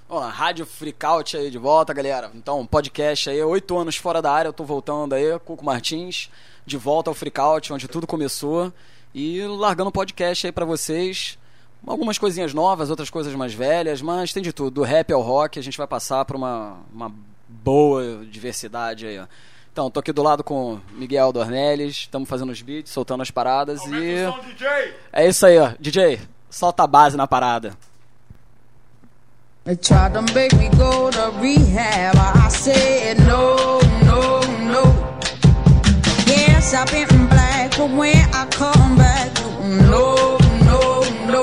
Ó, Rádio Freakout aí de volta, galera. Então, podcast aí, 8 anos fora da área, eu tô voltando aí, Cuco Martins, de volta ao Freakout, onde tudo começou, e largando um podcast aí pra vocês. Algumas coisinhas novas, outras coisas mais velhas, mas tem de tudo, do rap ao rock, a gente vai passar por uma boa diversidade aí, ó. Então, tô aqui do lado com Miguel Dornelles, estamos fazendo os beats, soltando as paradas. Aumenta e... o som, DJ! É isso aí, ó. DJ, solta a base na parada. They tried to make me go to rehab. I said no, no, no. Yes, I've been black, but when I come back, no, no, no.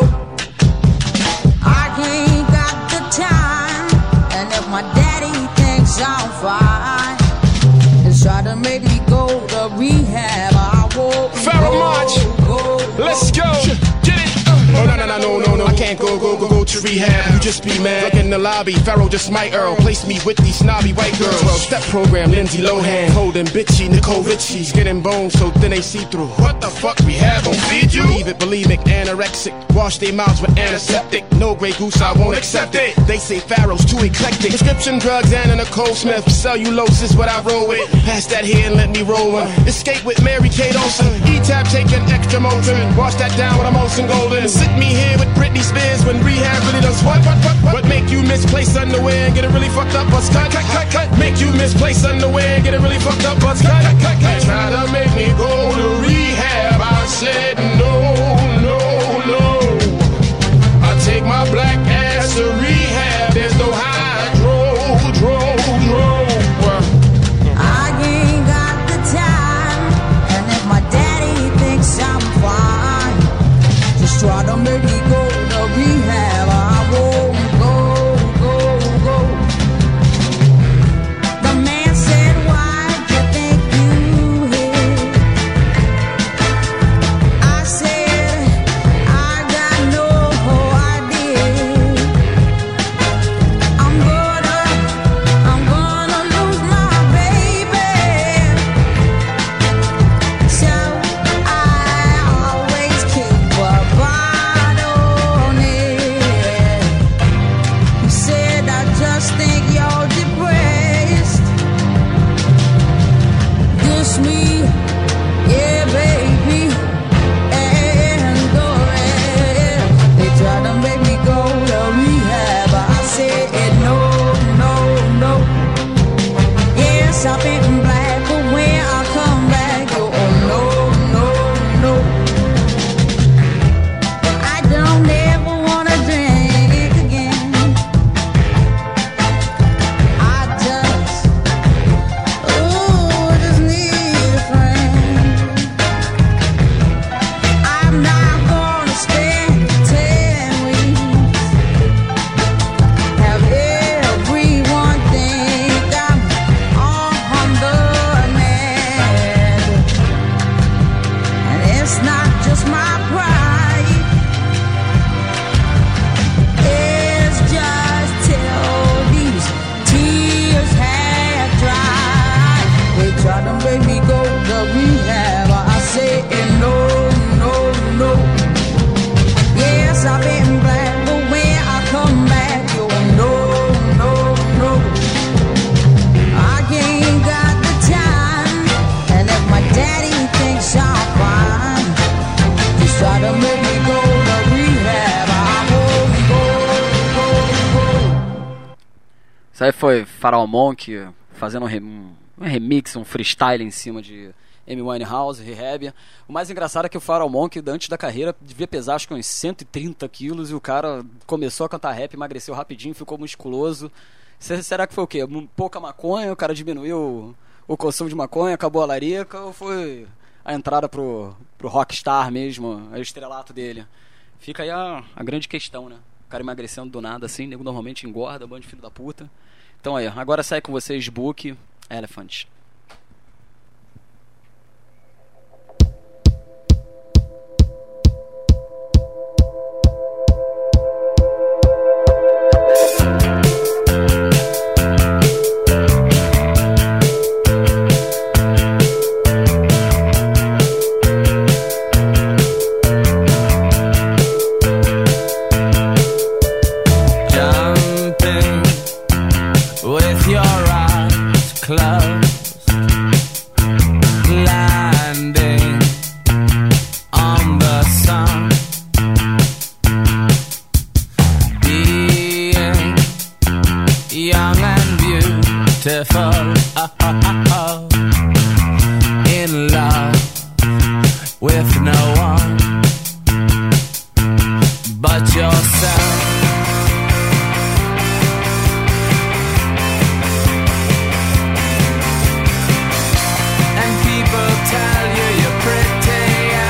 I ain't got the time, and if my daddy thinks I'm fine, they try to make me go to rehab. I won't Pharaoh March, let's go. Get it. Oh no, I can't go to rehab. You just be mad. Look in the lobby, Pharaoh just might Earl. Place me with these snobby white girls. 12-step program, Lindsay Lohan. Holding bitchy, Nicole Richie's. Getting bones so thin they see through. What the fuck, rehab gon' feed you? Believe it, bulimic, anorexic. Wash their mouths with antiseptic. No Grey Goose, I won't accept it. They say Pharaoh's too eclectic. Prescription drugs and a Nicole Smith. Cellulose is what I roll with. Pass that here and let me roll one. Escape with Mary Kate Olsen. E-Tab taking extra Motrin. Wash that down with a Molson Golden. Sit me here with Britney Spears when rehab really does what? What make you misplace underwear and get it really fucked up? Buzz cut. Make you misplace underwear and get it really fucked up? Buzz cut. Try to make me go to rehab. I said no, no, no. I take my black ass to rehab. There's no hydro, dro. I ain't got the time, and if my daddy thinks I'm fine, just try to make me go to rehab. I won't go. The man said, why'd you think you hit? I said, I got no idea. I'm gonna lose my baby. So I always keep a bottle on it. He said, I just think you're depressed. Diss me, yeah, baby, and go ahead. They tried to make me go to rehab. I said no, no, no. Yes, I've been black, but when I come back, oh no, no, no. I don't ever wanna drink again. I just need a friend. I'm not gonna spend 10 weeks. Have everyone think I'm the man. And it's not just my pride. It's just till these tears have dried. They try to make me go to rehab. I say no, no, no. Yes, I've been black, but when I come back, you no, no, no. I ain't got the time, and if my daddy thinks I'm fine, just try to make me go to rehab. I won't go. Isso aí foi Pharaoh Monk fazendo um remix, um freestyle em cima de Amy Winehouse, Rehab. O mais engraçado é que o Pharaoh Monk, antes da carreira, devia pesar acho que uns 130 quilos, e o cara começou a cantar rap, emagreceu rapidinho, ficou musculoso. Será que foi o quê? Pouca maconha, o cara diminuiu o consumo de maconha, acabou a larica, ou foi a entrada pro rockstar mesmo, o estrelato dele? Fica aí a grande questão, né? O cara emagrecendo do nada assim, nego normalmente engorda, bando de filho da puta. Então aí, agora sai com vocês Book Elephant. Jumping young and beautiful, in love with no one but yourself. And people tell you you're pretty,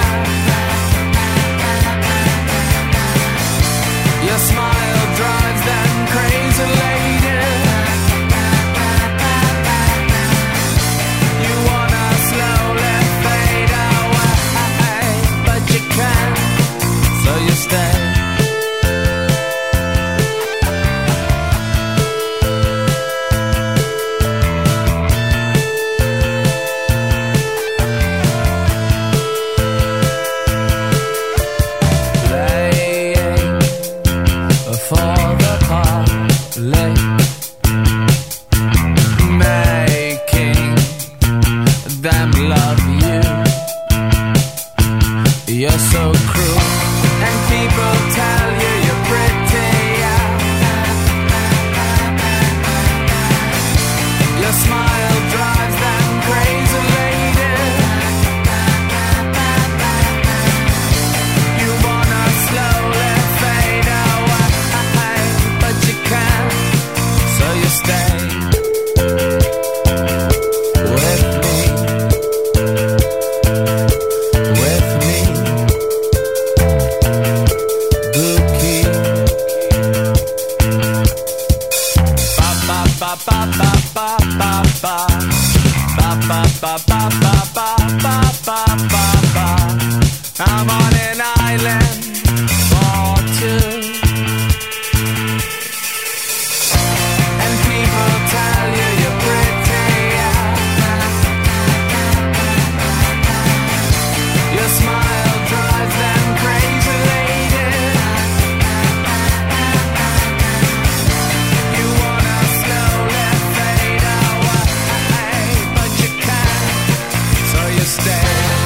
your smile drives them crazy, lady. You wanna slowly fade away, but you can't, so you stay. I'm on an island for two, and people tell you you're pretty. Your smile drives them crazy, lady. You wanna slowly fade away, but you can't, so you stay.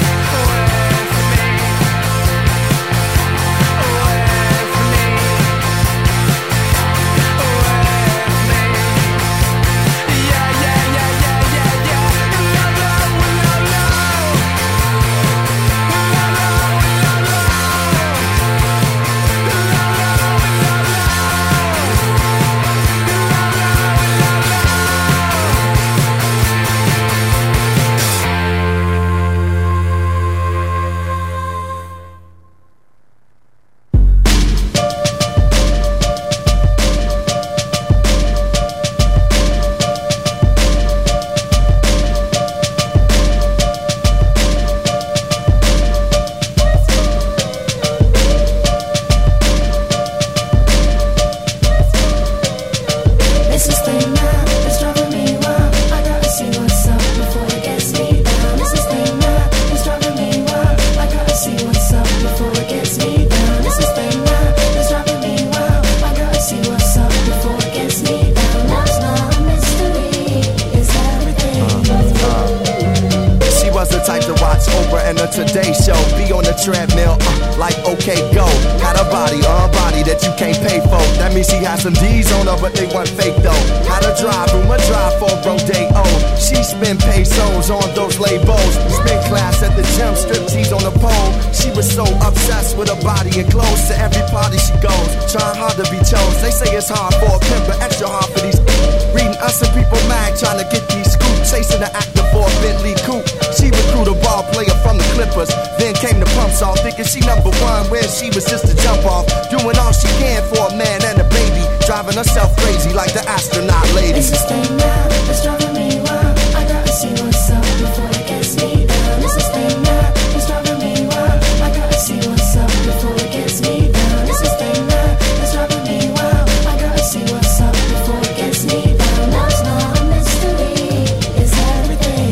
Today show, be on the treadmill, like okay go. Had a body that you can't pay for. That means she had some D's on her, but they weren't fake though. Had a drive room, a drive for Rodeo. She spent pesos on those labels. Spent class at the gym, striptease on the pole. She was so obsessed with her body and clothes. To every party she goes, trying hard to be chose. They say it's hard for a pimp, but extra hard for these. Reading Us and People mag, trying to get these scoops. Chasing the actor for a Bentley coupe. She recruited a ball player from the Clippers. Then came the pumps off, thinking she number one, where she was just a jump off. Doing all she can for a man and a baby, driving herself crazy like the astronaut lady. It's this thing now that's driving me wild. I gotta see what's up before it gets me down. It's this thing now that's driving me wild. I gotta see what's up before it gets me down. It's this thing now that's driving me wild. I gotta see what's up before it gets me down. Love's not a mystery, it's everything.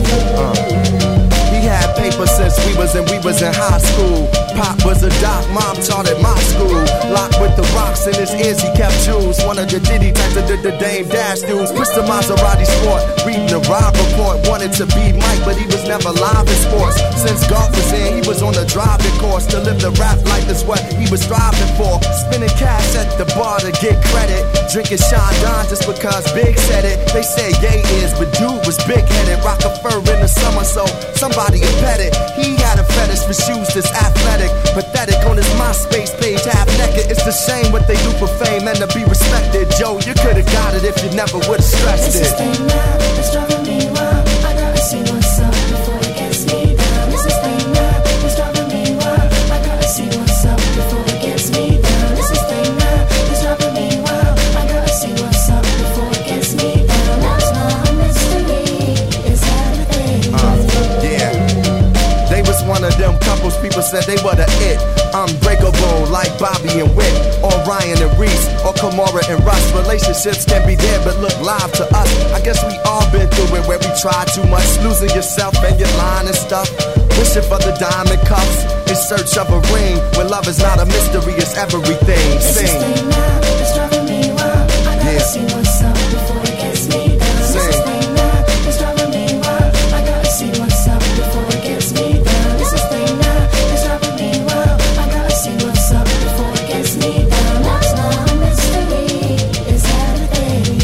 He had paper since we was in high school. Pop was a doc, mom taught at my school. Locked with the rocks boss in his ears, he kept jewels. One of the Diddy types of the Dame Dash dudes. Pushed the Maserati sport, reading the ride report. Wanted to be Mike, but he was never live in sports. Since golf was in, he was on the driving course. To live the rap life is what he was striving for. Spending cash at the bar to get credit. Drinking Sean Don just because Big said it. They said Ye is, but dude was big-headed. Rock a fur in the summer, so somebody would pet it. He had a fetish for shoes that's athletic. Pathetic on his MySpace page, half naked. It's a shame what they do for fame and to be respected. Joe, you could've got it if you never would've stressed It's it. this thing now, it's driving me wild. I gotta see what's up before it gets me down. It's this thing now, it's driving me wild. I gotta see what's up before it gets me down. It's this thing now, it's driving me wild. I gotta see what's up before it gets me down. Love's not a mystery, it's everything. Yeah. They was one of them couples people said they were the it. Unbreakable like Bobby and Wick, or Ryan and Reese, or Kamora and Russ. Relationships can be dead but look live to us. I guess we all been through it where we try too much, losing yourself and your line and stuff. Wishing for the diamond cuffs in search of a ring. When love is not a mystery, it's everything. It's this Sing. thing now, it's driving me wild. I gotta see what's up before it gets me down. It's this thing now, it's driving me wild. I gotta see what's up before it gets me down. It's this thing now, it's driving me wild. I gotta see what's up before it gets me down. Love's not a mystery, it's everything.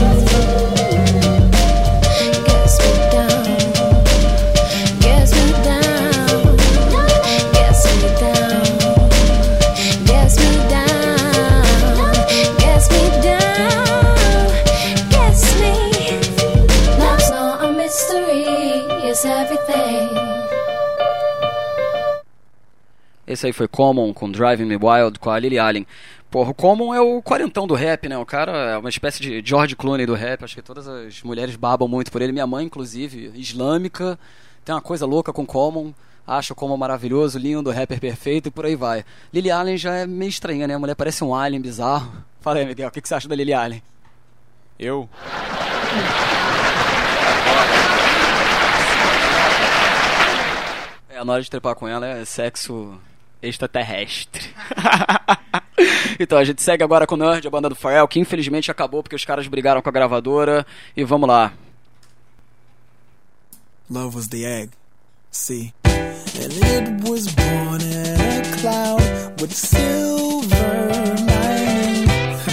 Gets me down, gets me down, gets me down, gets me down, gets me down, gets me. Love's not a mystery, it's everything. Esse aí foi Common com Driving Me Wild com a Lily Allen. Porra, o Common é o quarentão do rap, né? O cara é uma espécie de George Clooney do rap. Acho que todas as mulheres babam muito por ele. Minha mãe, inclusive, islâmica, tem uma coisa louca com Common. Acha o Common maravilhoso, lindo, rapper perfeito e por aí vai. Lily Allen já é meio estranha, né? A mulher parece um alien bizarro. Fala aí, Miguel, o que você acha da Lily Allen? Eu? Na hora de trepar com ela é sexo extraterrestre. Então a gente segue agora com o Nerd, a banda do Pharrell, que infelizmente acabou porque os caras brigaram com a gravadora. E vamos lá. Love was the egg, see, and it was born in a cloud with silver lining.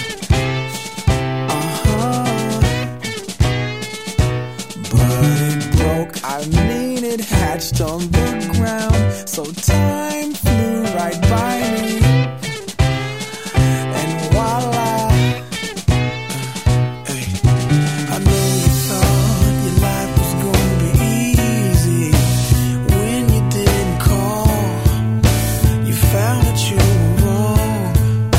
But it broke, I mean it hatched on the ground, so time flew right by me, and voila, hey, I know you thought your life was gonna be easy when you didn't call, you found that you were wrong.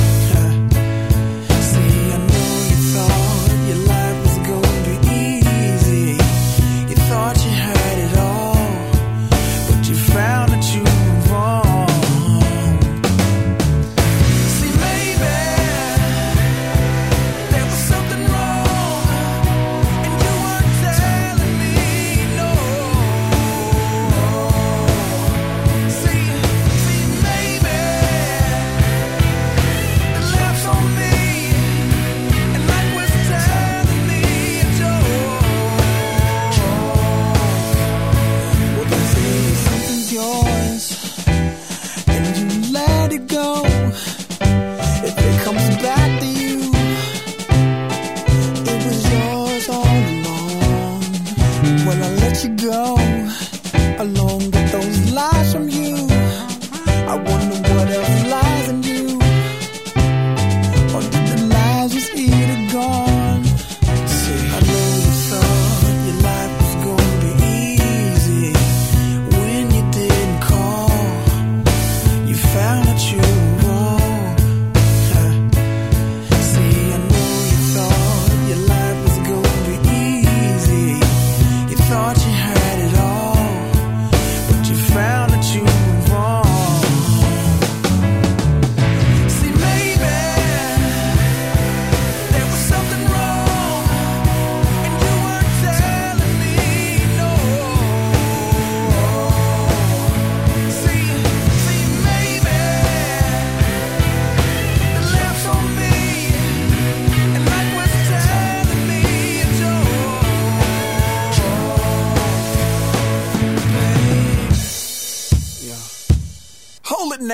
See, I know you thought your life was gonna be easy, you thought you had it all, but you found that you were wrong. See, maybe there was something wrong, and you weren't telling me no. See, maybe the laughs on me, and life was telling me it's yours. Well, they say something's yours, and you let it go. If it comes back to you, it was yours all along. Well, I let you go along with those lies from you. I wonder what else lies in you, or did the lies just eat it gone? See, I know you thought your life was gonna be easy when you didn't call, you found that you were wrong. See, I know you thought your life was gonna be easy, you thought you had it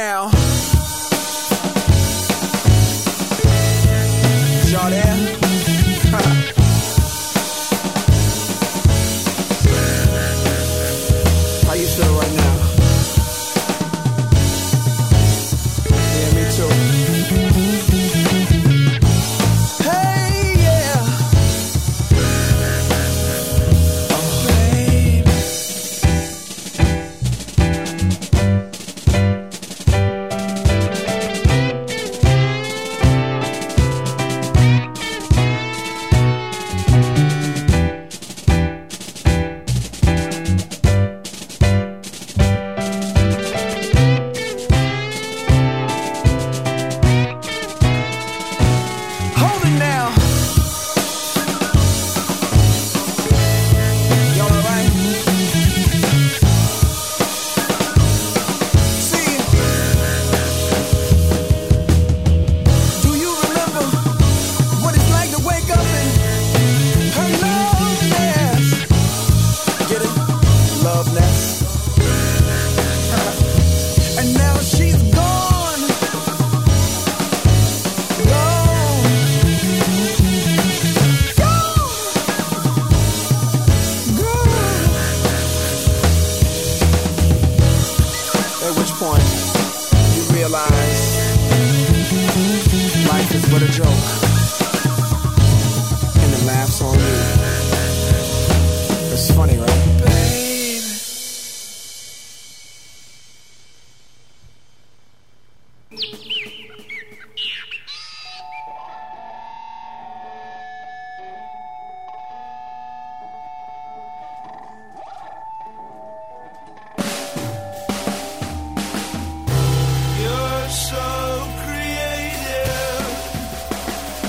now. Y'all there? How you feel right now? Yeah, me too. Hey, yeah. Oh, babe. Hold it now. Y'all alright? See, do you remember what it's like to wake up in her love nest? Get it? Love nest. And now she's gone. Gone. At which point you realize life is but a joke, and it laughs on you. It's funny, right? Babe. You're so creative.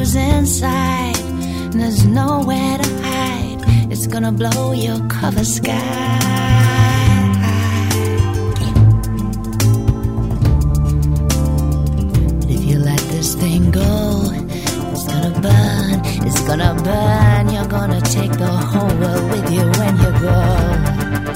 is inside. There's nowhere to hide. It's gonna blow your cover sky. If you let this thing go, it's gonna burn. It's gonna burn. You're gonna take the whole world with you when you go.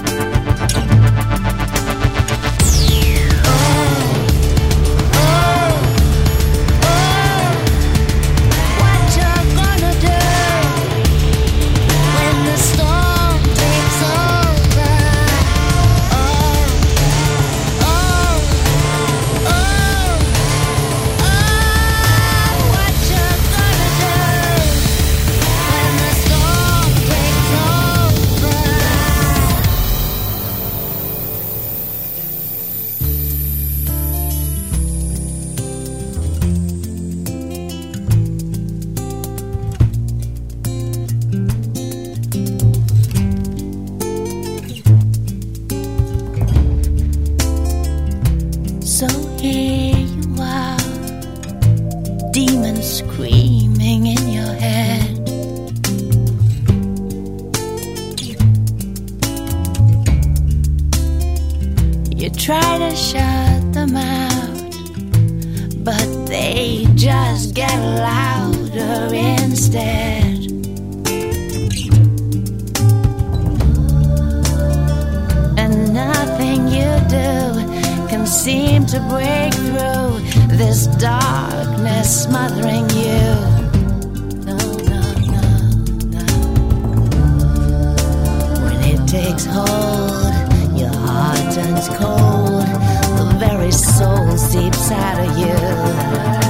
So here you are, demons screaming in your head. You try to shut them out, but they just get louder instead. And nothing you do can seem to break through this darkness smothering you. No, no, no, no. When it takes hold, your heart turns cold. The very soul seeps out of you.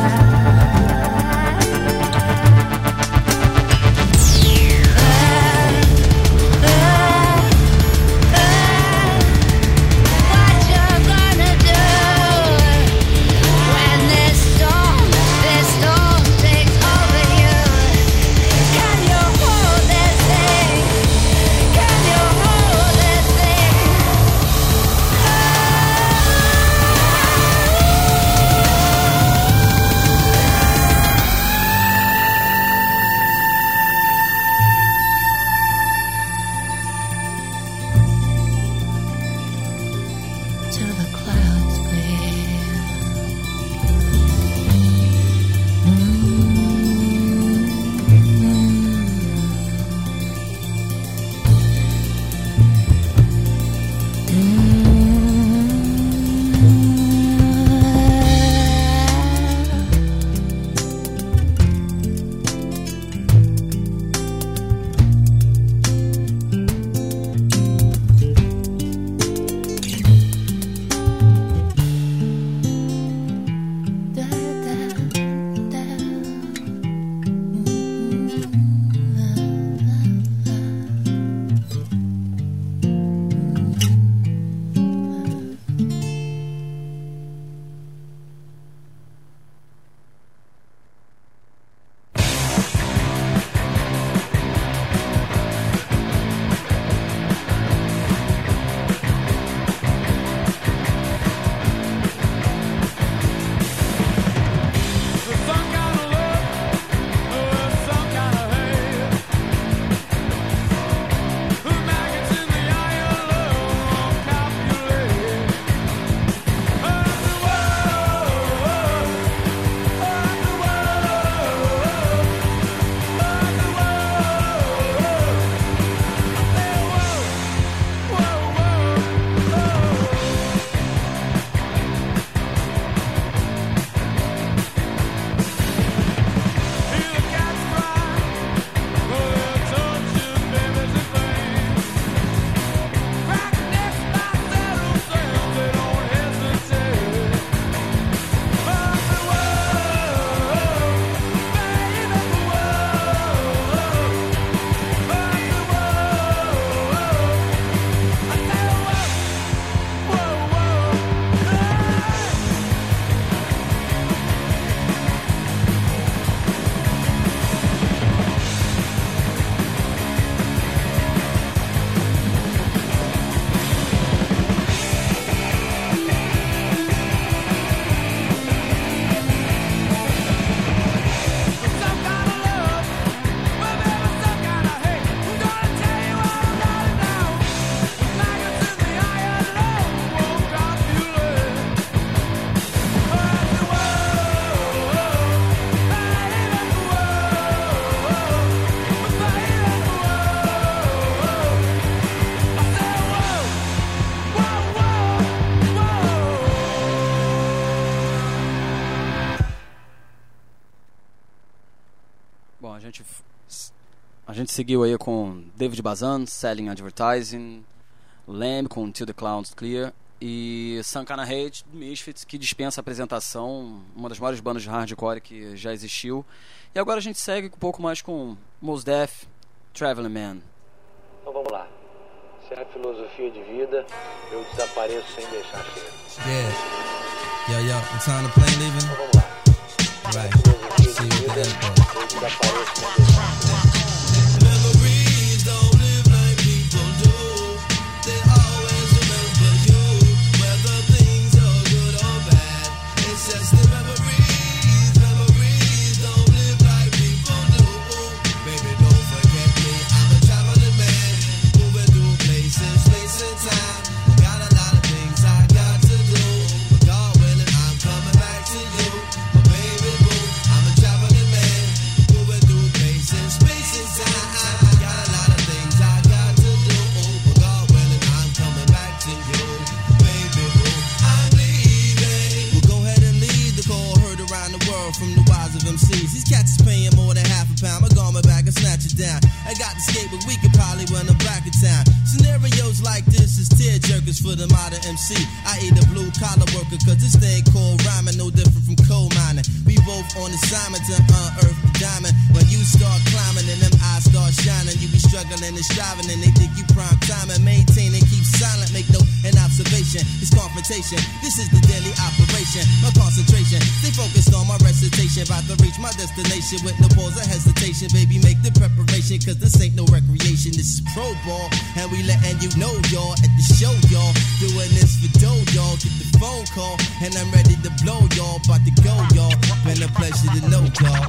A gente seguiu aí com David Bazan, Selling Advertising, Lamb com Till the Clouds Clear e Some Kinda Hate, Misfits, que dispensa apresentação, uma das maiores bandas de hardcore que já existiu. E agora a gente segue um pouco mais com Mos Def, Traveling Man. Então vamos lá. Se é a filosofia de vida, eu desapareço sem deixar cheiro. Yeah. Yo, what time the plane leaving? Então vamos lá. Right. Filosofia See de you at the vida, airport. eu desapareço sem deixar cheiro. Memories don't live like people do. They always remember you, whether things are good or bad. It's just the memories. Memories don't live like people do. Baby, don't forget me. I'm a traveling man, moving through places, space and time. Got a lot of things I got to do. But God willing, I'm coming back to you, my baby boo. I'm a traveling man, moving through places, space and time. Got a lot of things I got to do. But God willing, I'm coming back to you, baby boo. I'm leaving. Well, go ahead and lead the call heard around the world from the wise of MCs. These cats is paying more than half a pound. My garment back and snatch it down. I got the skate, but we could probably run them back in town. Scenarios like this is tear jerkers for the modern MC. I ain't a blue collar worker, cause this thing called rhyming no different from coal mining. We both on assignment to unearth the diamond. When you start climbing and them eyes start shining, you be struggling and striving and they think you prime time and maintain and keep silent. Make note and observation. It's confrontation. This is the daily operation. My concentration. Stay focused on my recitation. About to reach my destination with no pause or hesitation. Baby, make the preparation, cause this ain't no recreation. This is pro ball. And we letting you know, y'all, at the show, y'all. Doing this for dough, y'all. Get the phone call. And I'm ready to blow, y'all. About to go, y'all. Been a pleasure to know, y'all.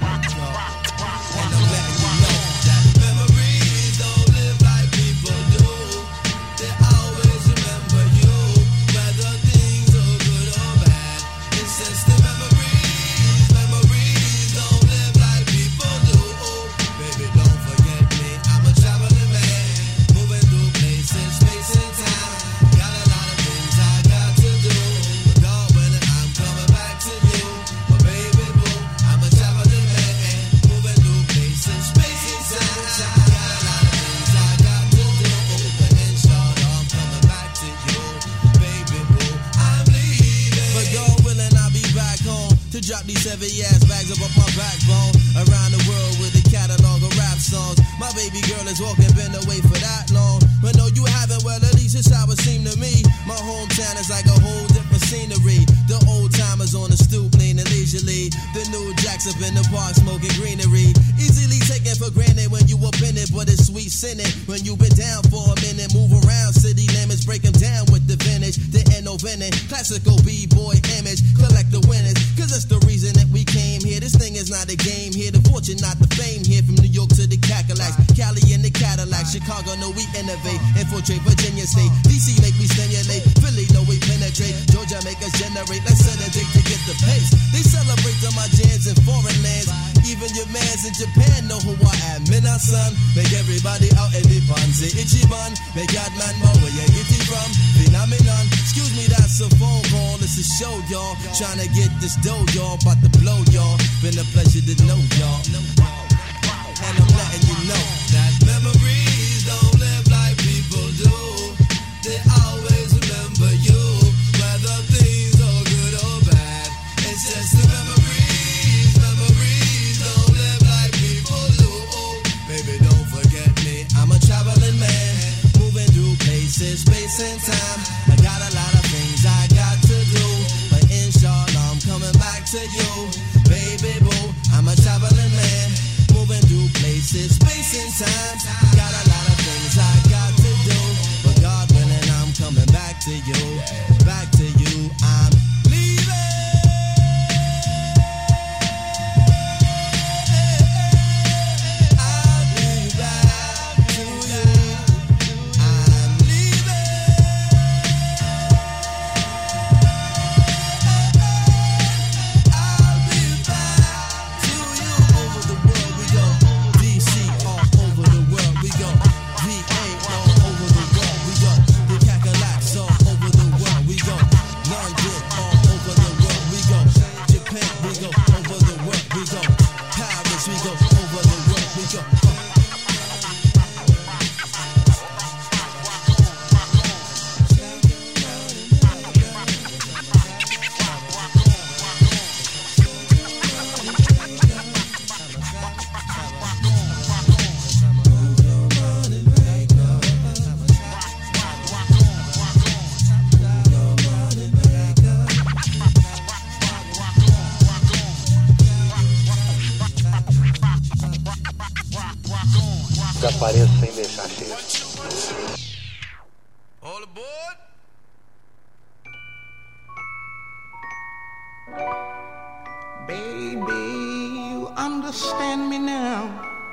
And I'm letting you know that memories don't live like people do. They always remember you, whether things are good or bad. It's just the memories. Memories don't live like people do. Baby, don't forget me. I'm a traveling man, moving through places, space and time. Got a lot of things I got to do. But God willing, I'm coming back to you, my baby boo. I'm a traveling man, moving through places, space and time. Got a lot of things I got to do. But inshallah, I'm coming back to you, baby boo. I'm leaving. But God willing, I'll be back home to drop these heavy ass bags up my backbone. Around the world with a catalog of rap songs. My baby girl is walking, been away for that long. But no, you haven't, well, at least it's how it seemed to me. My hometown is like a whole different scenery. The old timers on the stoop, leaning leisurely. The new jacks up in the park, smoking greenery. Easily taken for granted when you up in it, but it's sweet sinning. When you been down for a minute, move around city limits, break them down with the vintage. The no venom, classical B-boy image. Collect the winners, cause that's the reason that we came here. This thing is not a game here. The fortune, not the fame here. From New York to the Cadillacs, Cali in the Cadillac, Chicago, know we innovate. Infiltrate Virginia State, DC make me stimulate. Philly, know we penetrate. Georgia make us generate. Let's set a date to get the pace. They celebrate on my jams in foreign lands. Even your mans in Japan know who I am. Mina son, make everybody out in the pan. Say Ichiban, make that man know where you get it from. Phenomenon, excuse me, that's a phone call. It's a show, y'all. Trying to get this dough, y'all. About to blow, y'all. Been a pleasure to know, y'all. And I'm letting you know that memories don't live like people do. They always remember you, whether things are good or bad. It's just the memories. Memories don't live like people do. Baby, don't forget me. I'm a traveling man, moving through places, space and time. I got a lot of things I got to do, but inshallah I'm coming back to you, baby boo. I'm a traveling man, moving through places, space and Baby, you understand me now.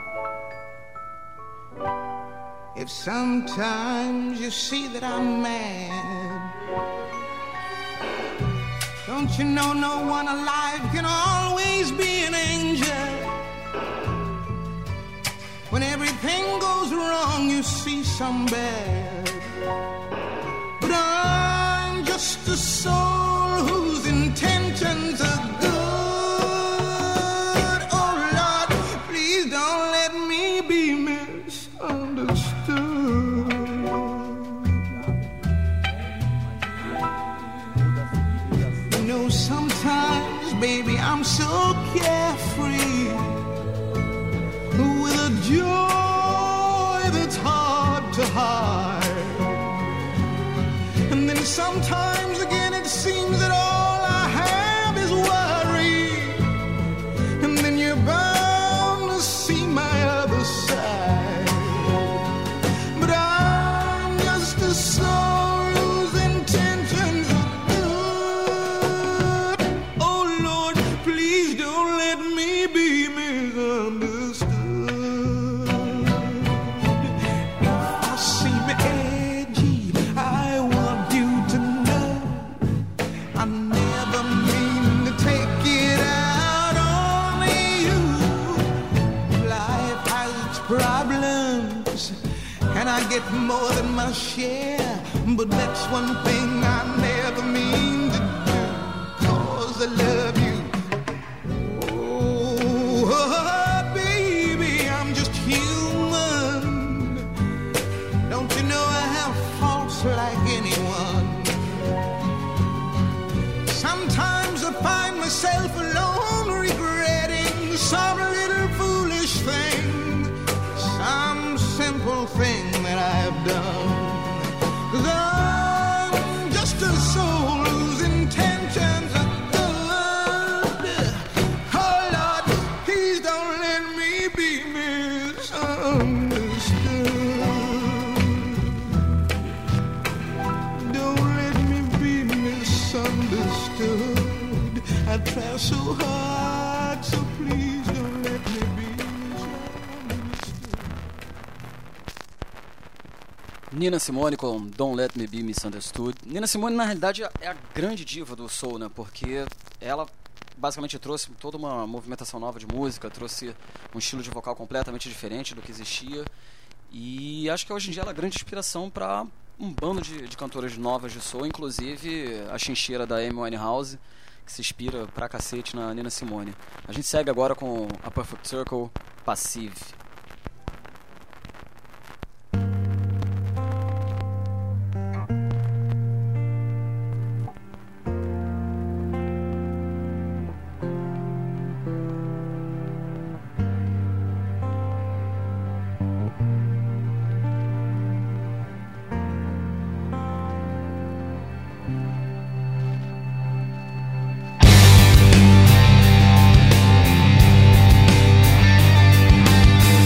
If sometimes you see that I'm mad, don't you know no one alive can always be an angel? When everything goes wrong, you see some bad. But I'm just a soul whose intentions are good. Oh Lord, please don't let me be misunderstood. You know, sometimes, baby, I'm so carefree, with a joy that's hard to hide. And then sometimes again it seems that all I have is worry. And then you're bound to see my other side. But I'm just a soul whose intentions are good. Oh Lord, please don't let me be misunderstood. I seem edgy, I want you to know I never mean to take it out on you. Life has its problems, and I get more than my share. But that's one thing I never mean to do, 'cause I love you. Oh, baby, I'm just human. Don't you know I have faults like anyone? Sometimes I find myself alone regretting some little foolish thing, some simple thing that I've done. 'Cause I'm just a soul whose intentions are good. Oh Lord, please don't let me be misunderstood. Don't let me be misunderstood. I try so hard, so please don't let me be misunderstood. Nina Simone com Don't Let Me Be Misunderstood. Nina Simone, na realidade, é a grande diva do soul, né? Porque ela basicamente trouxe toda uma movimentação nova de música, trouxe um estilo de vocal completamente diferente do que existia. E acho que hoje em dia ela é a grande inspiração para um bando de cantoras novas de soul, inclusive a chincheira da Amy Winehouse, que se inspira pra cacete na Nina Simone. A gente segue agora com a Perfect Circle, Passive. Passive.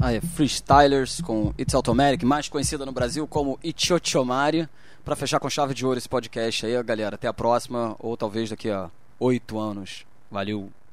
Freestylers com It's Automatic, mais conhecida no Brasil como Ichochomari, pra fechar com chave de ouro esse podcast aí, galera. Até a próxima, ou talvez daqui a 8 anos. Valeu!